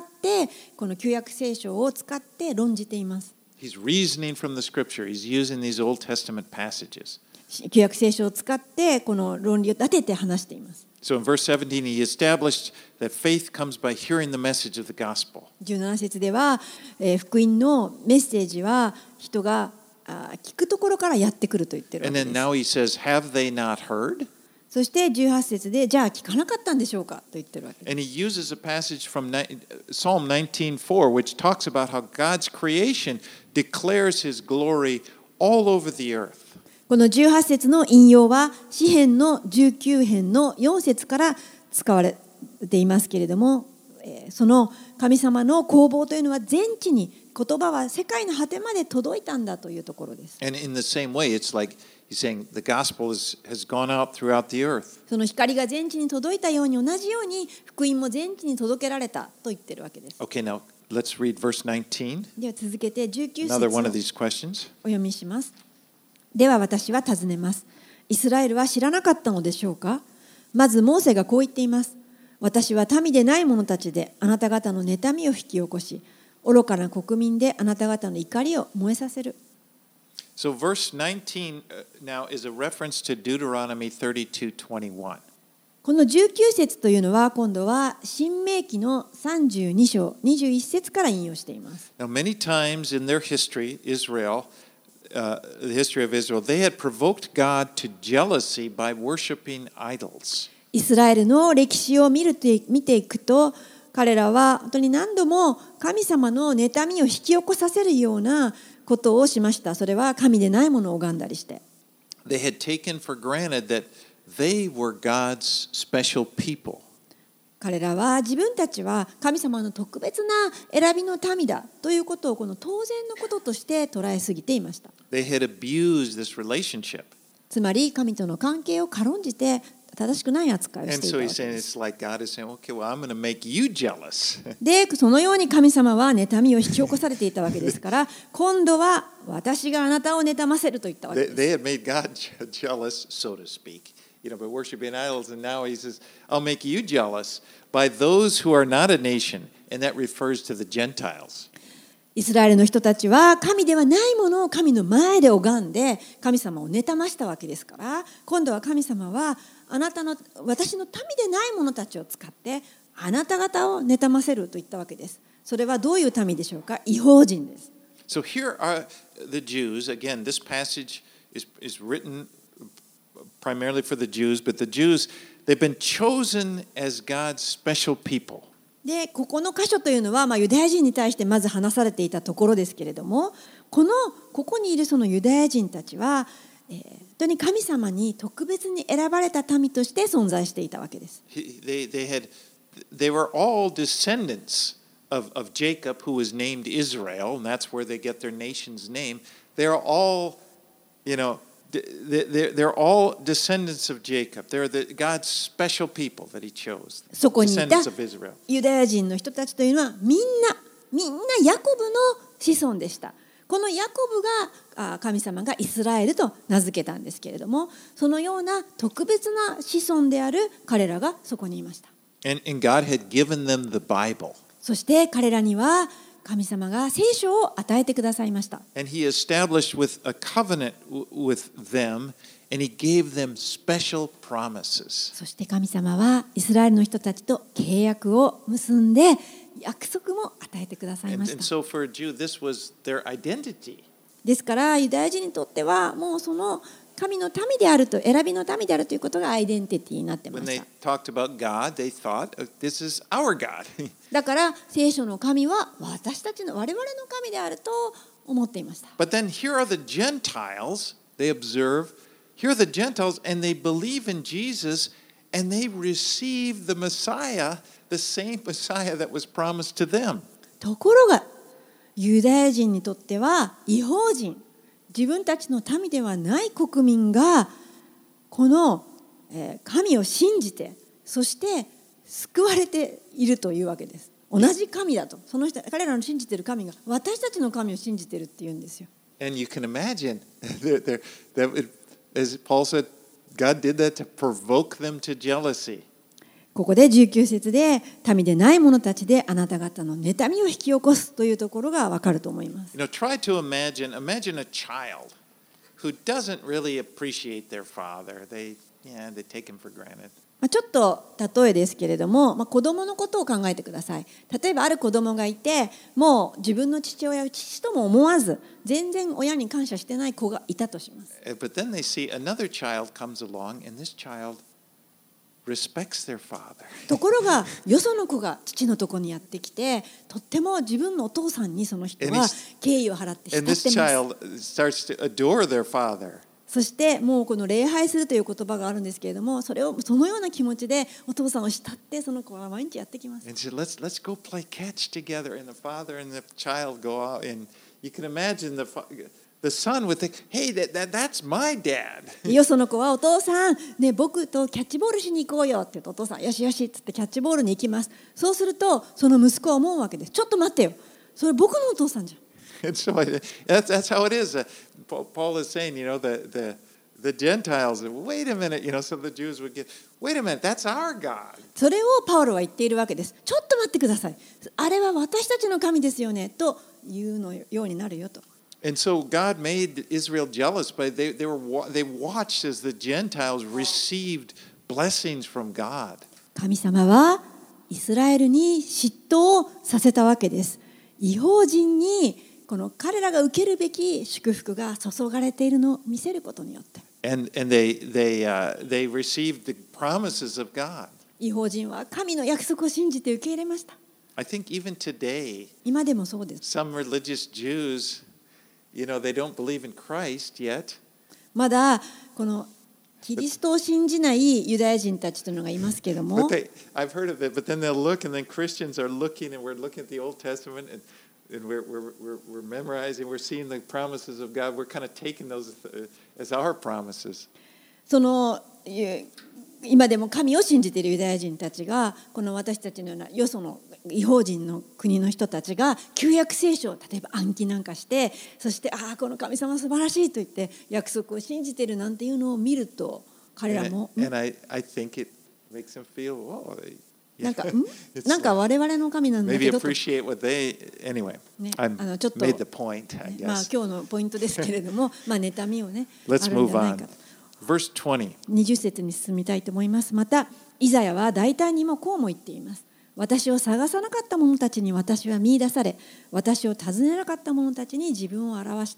この旧約聖書を使って論じています。 He's reasoning from the scripture. He's using these Old Testament passages. 旧約聖書を使って、この論理を立てて話しています。 So in verse seventeen, he established that faith comes by hearing the message of the gospel. じゅうなな節では、えー、福音のメッセージは人があ聞くところからやってくると言ってるわけです。 And then now he says, "Have they not heard?" そしてじゅうはち節で、じゃあ聞かなかったんでしょうかと言ってるわけです。 And he uses a passage from Psalm nineteen four, which talks about how God's creation declares His glory all over the earth. このじゅうはち節の引用は詩編のじゅうきゅう編のよん節から使われていますけれども、その神様の工房というのは全地に、言葉は世界の果てまで届いたんだというところです。 And in the same way, it's like he's saying the gospel is, has gone out throughout the earth. その光が全地に届いたように、同じように福音も全地に届けられたと言ってるわけです。 Okay, now let's read verse nineteen. では続けてじゅうきゅう節 Another を one お of these questions. 読みします。では私は尋ねます。イスラエルは知らなかったのでしょうか。まずモーセがこう言っています。私は民でない者たちであなた方の妬みを引き起こし、愚かな国民であなた方の怒りを燃えさせる。 So verse nineteen now is a reference to Deuteronomy thirty-two twenty-one. このじゅうきゅう節というのは今度は新明記のさんじゅうに章にじゅういち節から引用しています。 Now many times in their history, Israel, uh, the history of Israel, they had provoked God to jealousy by worshiping idols. イスラエルの歴史を見ると見ていくと、彼らは本当に何度も神様の妬みを引き起こさせるようなことをしました。それは神でないものを拝んだりして。 They had taken for granted that they were God's special people. 彼らは自分たちは神様の特別な選びの民だということをこの当然のこととして捉えすぎていました。 They had abused this relationship. つまり神との関係を軽んじて正しくない扱いをし And ていた so わ he's け saying です。 it's like God is saying, okay, well, I'm going to make you jealous. で、そのように神様は妬みを引き起こされていたわけですから、今度は私があなたを妬ませると言ったわけ They, です they had made God jealous, so to speak, you know, by worshiping idols. And now he says, I'll make you jealous by those who are not a nation. And that refers to the Gentiles. イスラエルの人たちは神ではないものを神の前で拝んで神様を妬ましたわけですから、今度は神様はあなたの私の民でない者たちを使ってあなた方を妬ませると言ったわけです。それはどういう民でしょうか？異邦人です。 So here are the Jews. Again, this passage is, is written primarily for the Jews, but the Jews, they've been chosen as God's special people. でここの箇所というのは、まあ、ユダヤ人に対してまず話されていたところですけれども、このここにいるそのユダヤ人たちは、えー、本当に神様に特別に選ばれた民として存在していたわけです。 They, they, had, they were all descendants of, of Jacob, who was named Israel, and that's where they get their nation's name. They're all, you know, they're, they're all descendants of Jacob. They're the, God's special people that he chose. そこにいた Descendants of Israel. ユダヤ人の人たちというのはみんなみんなヤコブの子孫でした。このヤコブが神様がイスラエルと名付けたんですけれども、そのような特別な子孫である彼らがそこにいました。 And, and God had given them the Bible. そして彼らには神様が聖書を与えてくださいました。 And he established with a covenant with them, and he gave them special promises. そして神様はイスラエルの人たちと契約を結んで約束も与えてくださいました。 And, and so for a Jew, this was their identity. ですからユダヤ人にとってはもうその神の民であると、選びの民であるということがアイデンティティになってま When し they た。 talked about God, they thought, this is our God. だから聖書の神は私たちの我々の神であると思っていました。 But then here are the Gentiles, they observe, here are the Gentiles, and they believe in Jesus, and they receive the Messiah, the same Messiah that was promised to them. ところがユダヤ人にとっては異邦人、自分たちの民ではない国民がこの神を信じて、そして救われているというわけです。同じ神だと、その人彼らの信じている神が私たちの神を信じているっていうんですよ。 And you can imagine they're, they're, that it, as Paul said, God did that to provoke them to jealousy. ここでじゅうきゅう節で民でない者たちであなた方の妬みを引き起こすというところがわかると思います。 You know, try to imagine, imagine a child who doesn't really appreciate their father. They, yeah, they take him for granted. ちょっと例えですけれども、まあ、子供のことを考えてください。例えばある子供がいて、もう自分の父親を父とも思わず、全然親に感謝してない子がいたとします。 But then they see another child comes along, and this child respects their father. ところがよその子が父のところにやってきて、とっても自分のお父さんにその人は敬意を払って慕ってます。 And this child starts to adore their father. そしてもうこの礼拝するという言葉があるんですけれども、それをそのような気持ちでお父さんを慕ってその子は毎日やってきます。 And said, let's let's go play catch together, and the father and the child go out, and you can imagine the the son would think, hey, that, that that's my dad. よその子はお父さん、ね、僕とキャッチボールしに行こうよって言うと、お父さんよしよしって言ってキャッチボールに行きます。そうするとその息子は思うわけです。ちょっと待ってよ、それ僕のお父さんじゃん。 And so that's that's how it is. Uh, Paul is saying, you know, the the the Gentiles. Wait a minute, you know, so the Jews would get. Wait a minute, that's our God. それをパウロは言っているわけです。ちょっと待ってください。あれは私たちの神ですよねというのようになるよと。 And so God made Israel jealous, but they they were they watched as the Gentiles received blessings from God. 神様はイスラエルに嫉妬をさせたわけです。異邦人にこの彼らが受けるべき祝福が注がれているのを見せることによって、 And and they they uh, they received the promises of God. 異邦人は神の約束を信じて受け入れました。 I think even today, 今でもそうです。 some religious Jews, you know, they don't believe in Christ yet. まだこのキリストを信じないユダヤ人たちというのがいますけれども、 But they, I've heard of it, but then they'll look, and then Christians are looking, and we're looking at the Old Testament, and and we're we're we're, we're memorizing, we're seeing the promises of God. We're kind of taking those as our promises. その今でも神を信じているユダヤ人たちがこの私たちのようなよその異邦人の国の人たちが旧約聖書を例えば暗記なんかして、そしてああこの神様素晴らしいと言って約束を信じているなんていうのを見ると、彼らも And, and I I think it makes them feel, oh, they, なんか、んなんか我々の神なんだ Maybe けどと、 appreciate what they. Anyway, ね、 I あのちょっと made the point, I まあ guess. 今日のポイントですけれども、まあ妬みをね、あ Let's るんじ move ゃないか on. と。 Verse twenty. にじゅっ節に進みたいと思います。またイザヤは大胆にもこうも言っています。私を探さなかった者たちに私は見出され、私を尋ねなかった者たちに自分を表した。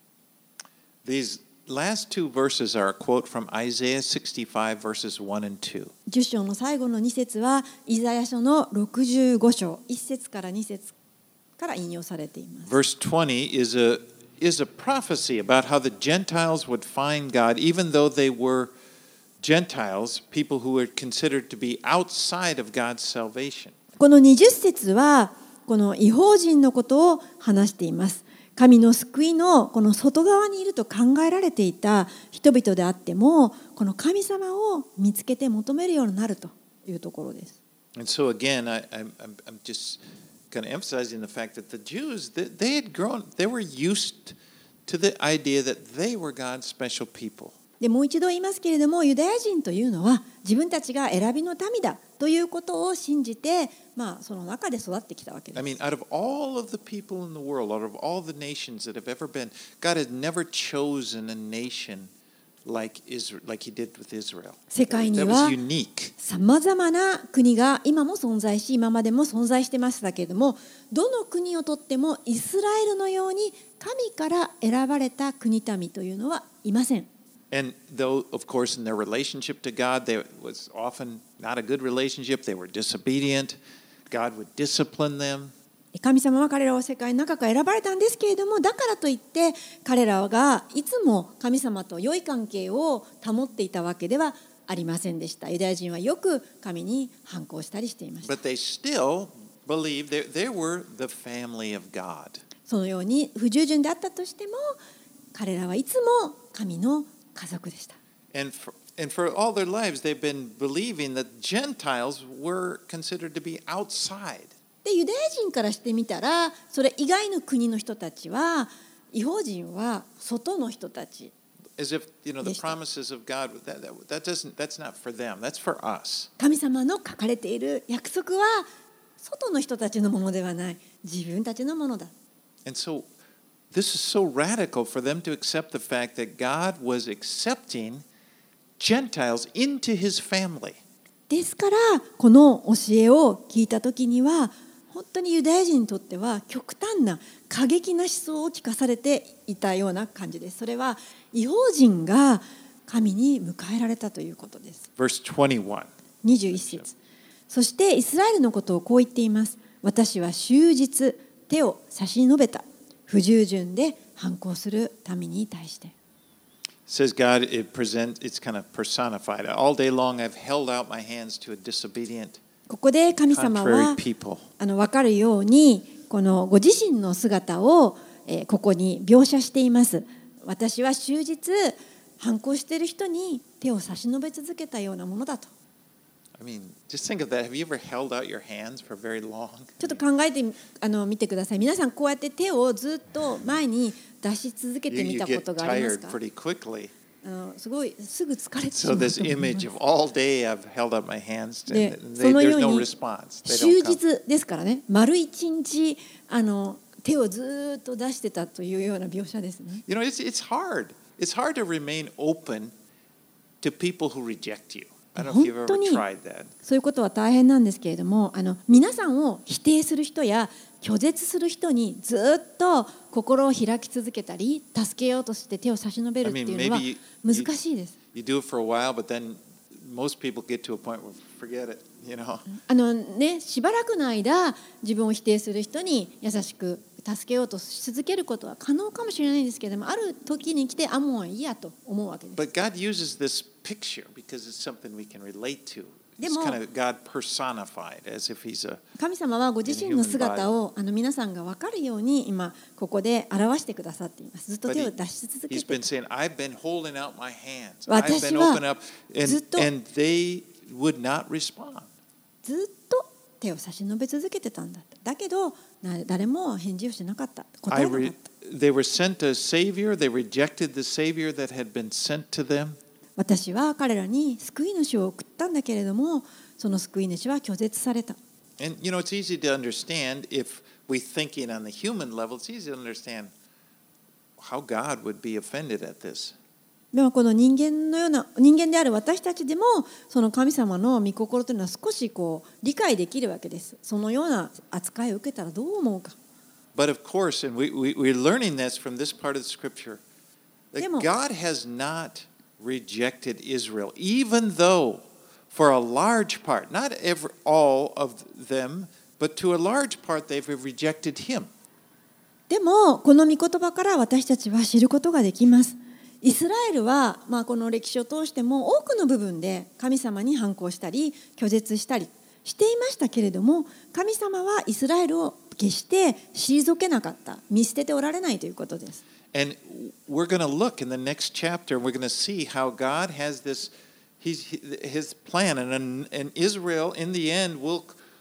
These last two verses are a quote from Isaiah sixty-five, verses one and two. じゅっ章の最後のに節はイザヤ書のろくじゅうご章いち節からに節から引用されています。 Verse twenty is a is a prophecy about how the Gentiles would find God, even though they were Gentiles, people who were considered to be outside of God's salvation. このにじゅっ節はこの異邦人のことを話しています。神の救いのこの外側にいると考えられていた人々であっても、この神様を見つけて求めるようになるというところです。 And so again, I, I'm, I'm just kind of emphasizing the fact that the Jews, they, they had grown, they were used to the idea that they were God's special people. でもう一度言いますけれども、ユダヤ人というのは自分たちが選びの民だということを信じて、まあ、その中で育ってきたわけです。 I mean, out of all of the people in the world, out of all the nations that have ever been, God has never chosen a nation like Israel, like He did with Israel. 世界に That は was unique. さまざまな国が今も存在し、今までも存在してましたけれども、どの国をとってもイスラエルのように神から選ばれた国民というのはいません。 And though, of course, in their relationship to God, there was often not a good relationship. They were disobedient. God would discipline them. 神様は彼らを世界の中から選ばれたんですけれども、だからといって彼らがいつも神様と良い関係を保っていたわけではありませんでした。ユダヤ人はよく神に反抗したりしていました。 But they still believed they, they were the family of God. そのように不従順であったとしても、彼らはいつも神の家族でした。 And for, and for all their lives, they've been believing that Gentiles were considered to be outside. でユダヤ人からしてみたら、それ以外の国の人たちは、異邦人は外の人たち。 As if, you know, the promises of God, that, that, that doesn't, that's not for them, that's for us. 神様の書かれている約束は外の人たちのものではない、自分たちのものだ。 And so this is so radical for them to accept the fact that God was accepting Gentiles into His family. ですからこの教えを聞いたときには、本当にユダヤ人にとっては極端な過激な思想を聞かされていたような感じです。それは異邦人が神に迎えられたということです。 Verse twenty-one. にじゅういち節。そしてイスラエルのことをこう言っています。私は終日手を差し伸べた。不従順で反抗する民に対して。 Says God, it present, it's kind of personified. All day long I've held out my hands to a disobedient, ここで神様 contrary は people. あの分かるようにこのご自身の姿を、えー、ここに描写しています。私は終日反抗している人に手を差し伸べ続けたようなものだと。 I mean, just think of that. Have you ever held out your hands for very long? ちょっと考えてあの見てください。皆さんこうやって手をずっと前に出し続け You, てみ you たこ get とがあります tired か？ pretty quickly. あのすごいすぐ疲れてし So まうと this 思いま image す。 of all day I've held up my hands, で and そ they, の there's よう no に response. They 終 don't come. 日ですからね、丸一日あの手をずっと出してたというような描写ですね。 You know, it's it's hard. It's hard to remain open to people who reject you. I don't know if you've ever 本当に tried that. そういうことは大変なんですけれども、あの皆さんを否定する人や拒絶する人にずっと心を開き続けたり、助けようとして手を差し伸べるっていうのは I mean, maybe 難しいです。 You do it for a while, but then most people get to a point where forget it, you know. あのね、しばらくの間自分を否定する人に優しく助けようとし続けることは可能かもしれないんですけれども、ある時に来てあもういいやと思うわけです。 But God uses this picture because it's something we can relate to. It's でも、 kind of God personified as if He's a 神様はご自身の姿をあの皆さんが分かるように今ここで表してくださっています。ずっと But 手 he, を出し続け He's て been saying, I've been holding out my hands. 私 I've been は open up, ずっ and, と and they would not respond. ずっと手を差し伸べ続けてたんだ。だけどな誰も返事をしなかった。答 I えなかっ re, た。 they were sent a Savior. They rejected the Savior that had been sent to them. 私は彼らに救い主を送ったんだけれども、その救い主は拒絶された。 And you know, it's easy to understand if we thinking on the human level, it's easy to understand how God would be offended at this. でもこの人間のような人間である私たちでもその神様の御心というのは少しこう理解できるわけです。そのような扱いを受けたらどう思うか。 But of course, and we, we, we're learning this from this part of the scripture, that でも God has not rejected Israel, even though for a large part, not every, all of them, but to a large part they've rejected him. でもこの御言葉から私たちは知ることができます。イスラエルは、まあ、この歴史を通しても多くの部分で神様に反抗したり拒絶したりしていましたけれども、神様はイスラエルを決して退けなかった、見捨てておられないということです。 And we're going to look in the next chapter, and we're going to see how God has this, he's, his plan, and, and Israel in the end will,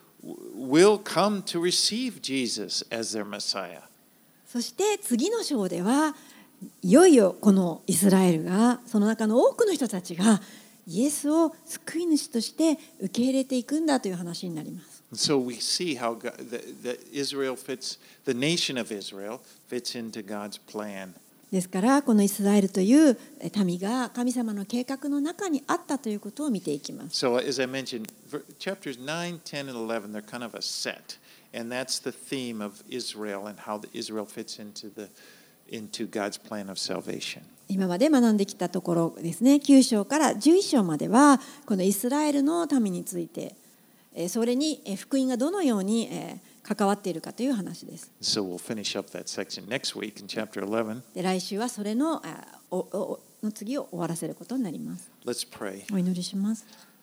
will come to receive Jesus as their Messiah. そして次の章ではいよいよこのイスラエルが、その中の多くの人たちがイエスを救い主として受け入れていくんだという話になります。 So we see how God, that, that Israel fits, the nation of Israel fits into God's plan. ですからこのイスラエルという民が神様の計画の中にあったということを見ていきます。 So as I mentioned, chapters nine, ten, and eleven, they're kind of a set. And that's the theme of Israel and how Israel fits into the into God's plan of salvation. 今まで学んできたところですね、きゅう章からじゅういち章まではこのイスラエルの民について、それに福音がどのように関わっているかという話です。 So we'll finish up that section next week in chapter eleven. で来週はそれのおおの次を終わらせることになります。 Let's pray. お祈りします。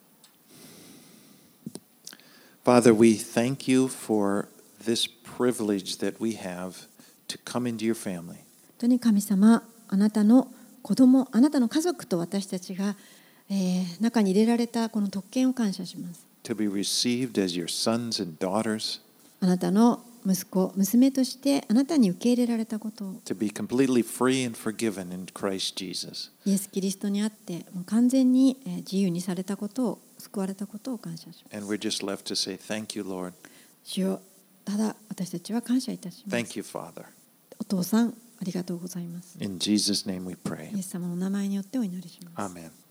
Father, we thank you for this privilege that we have to come into your family. 本当に神様、あなたの子供、あなたの家族と私たちが、えー、中に入れられたこの特権を感謝します。 To be received as your sons and daughters. あなたの息子、娘としてあなたに受け入れられたことを。 To be completely free and forgiven in Christ Jesus. イエス・キリストにあってもう完全に自由にされたことを、救われたことを感謝します。 And we're just left to say thank you, Lord. 主よ、ただ私たちは感謝いたします。 Thank you, Father. お父さん、ありがとうございます。 In Jesus' name we pray. イエス様のお名前によってお祈りします。 Amen.